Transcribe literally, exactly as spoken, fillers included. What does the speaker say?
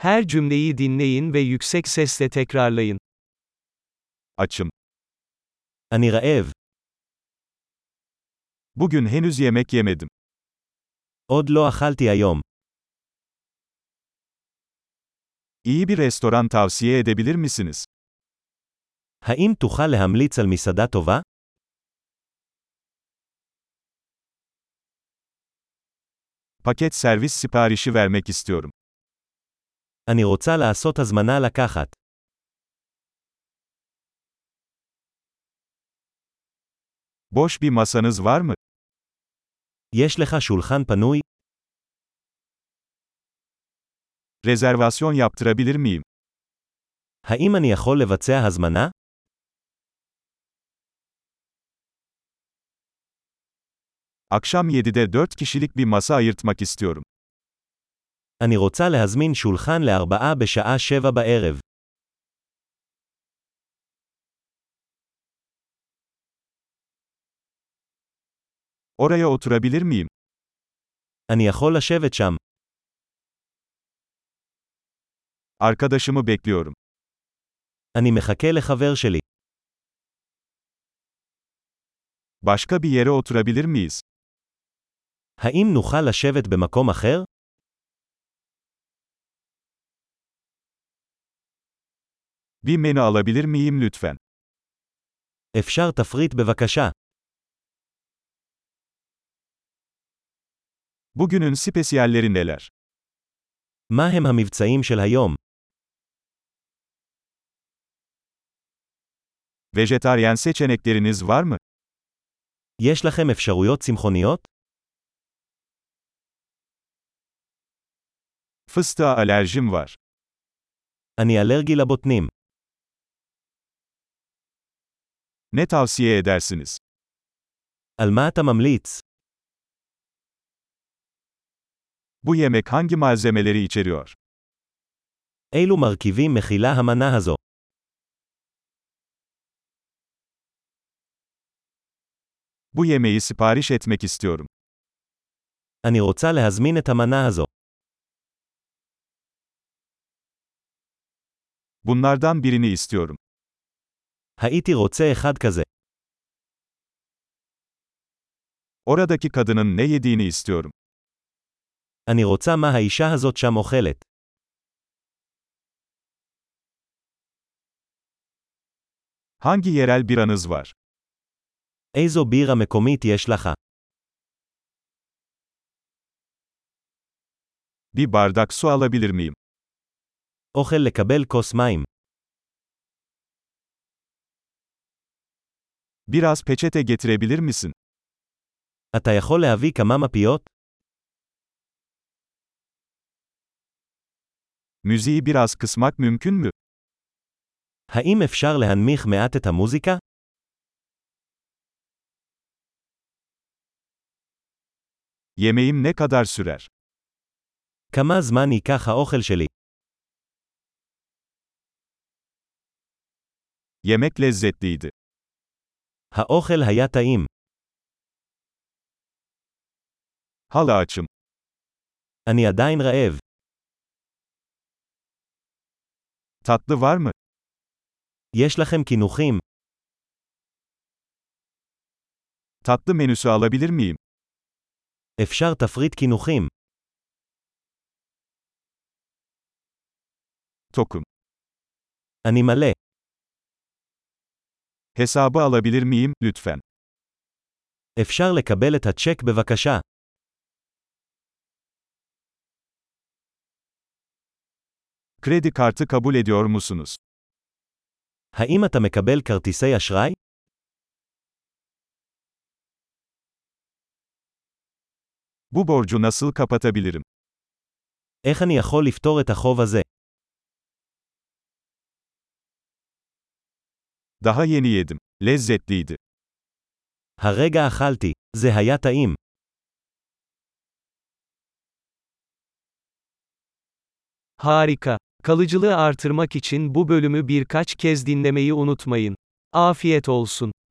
Her cümleyi dinleyin ve yüksek sesle tekrarlayın. Açım. אני רעב. Bugün henüz yemek yemedim. עוד לא אכלתי היום. İyi bir restoran tavsiye edebilir misiniz? האם תוכל להמליץ על מסעדה טובה? Paket servis siparişi vermek istiyorum. אני רוצה לעשות הזמנה לקחת. Boş bir masanız var mı? יש לך שולחן פנוי? Rezervasyon yaptırabilir miyim? האם אני יכול לבצע הזמנה? Akşam yedide dört kişilik bir masa ayırtmak istiyorum. אני רוצה להזמין שולחן לארבעה בשעה שבע בערב. Oraya oturabilir miyim? אני יכול לשבת שם. Arkadaşımı bekliyorum. אני מחכה לחבר שלי. Başka bir yere oturabilir miyiz? האם נוכל לשבת במקום אחר? Bir menü alabilir miyim lütfen? אפשר תפריט בבקשה. Bugünün spesiyalleri neler? מה הם המבצעים של היום? Vejetaryen seçenekleriniz var mı? יש לכם אפשרויות צמחוניות? Fıstığa alerjim var. אני אלרגי לבוטנים. Ne tavsiye edersiniz? על מה אתה ממליץ? Bu yemek hangi malzemeleri içeriyor? אילו מרכיבים מכילה המנה הזו? Bu yemeği sipariş etmek istiyorum. אני רוצה להזמין את המנה הזו. Bunlardan birini istiyorum. הייתי רוצה אחד כזה. Oradaki kadının ne yediğini istiyorum. אני רוצה מה האישה הזאת שם אוכלת. Hangi yerel biranız var? איזו בירה מקומית יש לך? Bir bardak su alabilir miyim? אוכל לקבל כוס מים. Biraz peçete getirebilir misin? אתה יכול להביא כמה מפיות? Müziği biraz kısmak mümkün mü? האם אפשר להנמיך מעט את המוזיקה? Yemeğim ne kadar sürer? כמה זמן ייקח האוכל שלי? Yemek lezzetliydi. האוכל היה טעים. Hala açım. אני עדיין רעב. Tatlı var mı? יש לכם קינוחים? Tatlı menüsü alabilir miyim? אפשר תפריט קינוחים. Tokum. אני מלא. Hesabı alabilir miyim, lütfen? אפשר לקבל את הצ'ק בבקשה. Kredi kartı kabul ediyor musunuz? האם אתה מקבל כרטיסי אשראי? Bu borcu nasıl kapatabilirim? איך אני יכול לפתור את החוב הזה? Daha yeni yedim. Lezzetliydi. הרגע אכלתי. זה היה טעים. Harika. Kalıcılığı artırmak için bu bölümü birkaç kez dinlemeyi unutmayın. Afiyet olsun.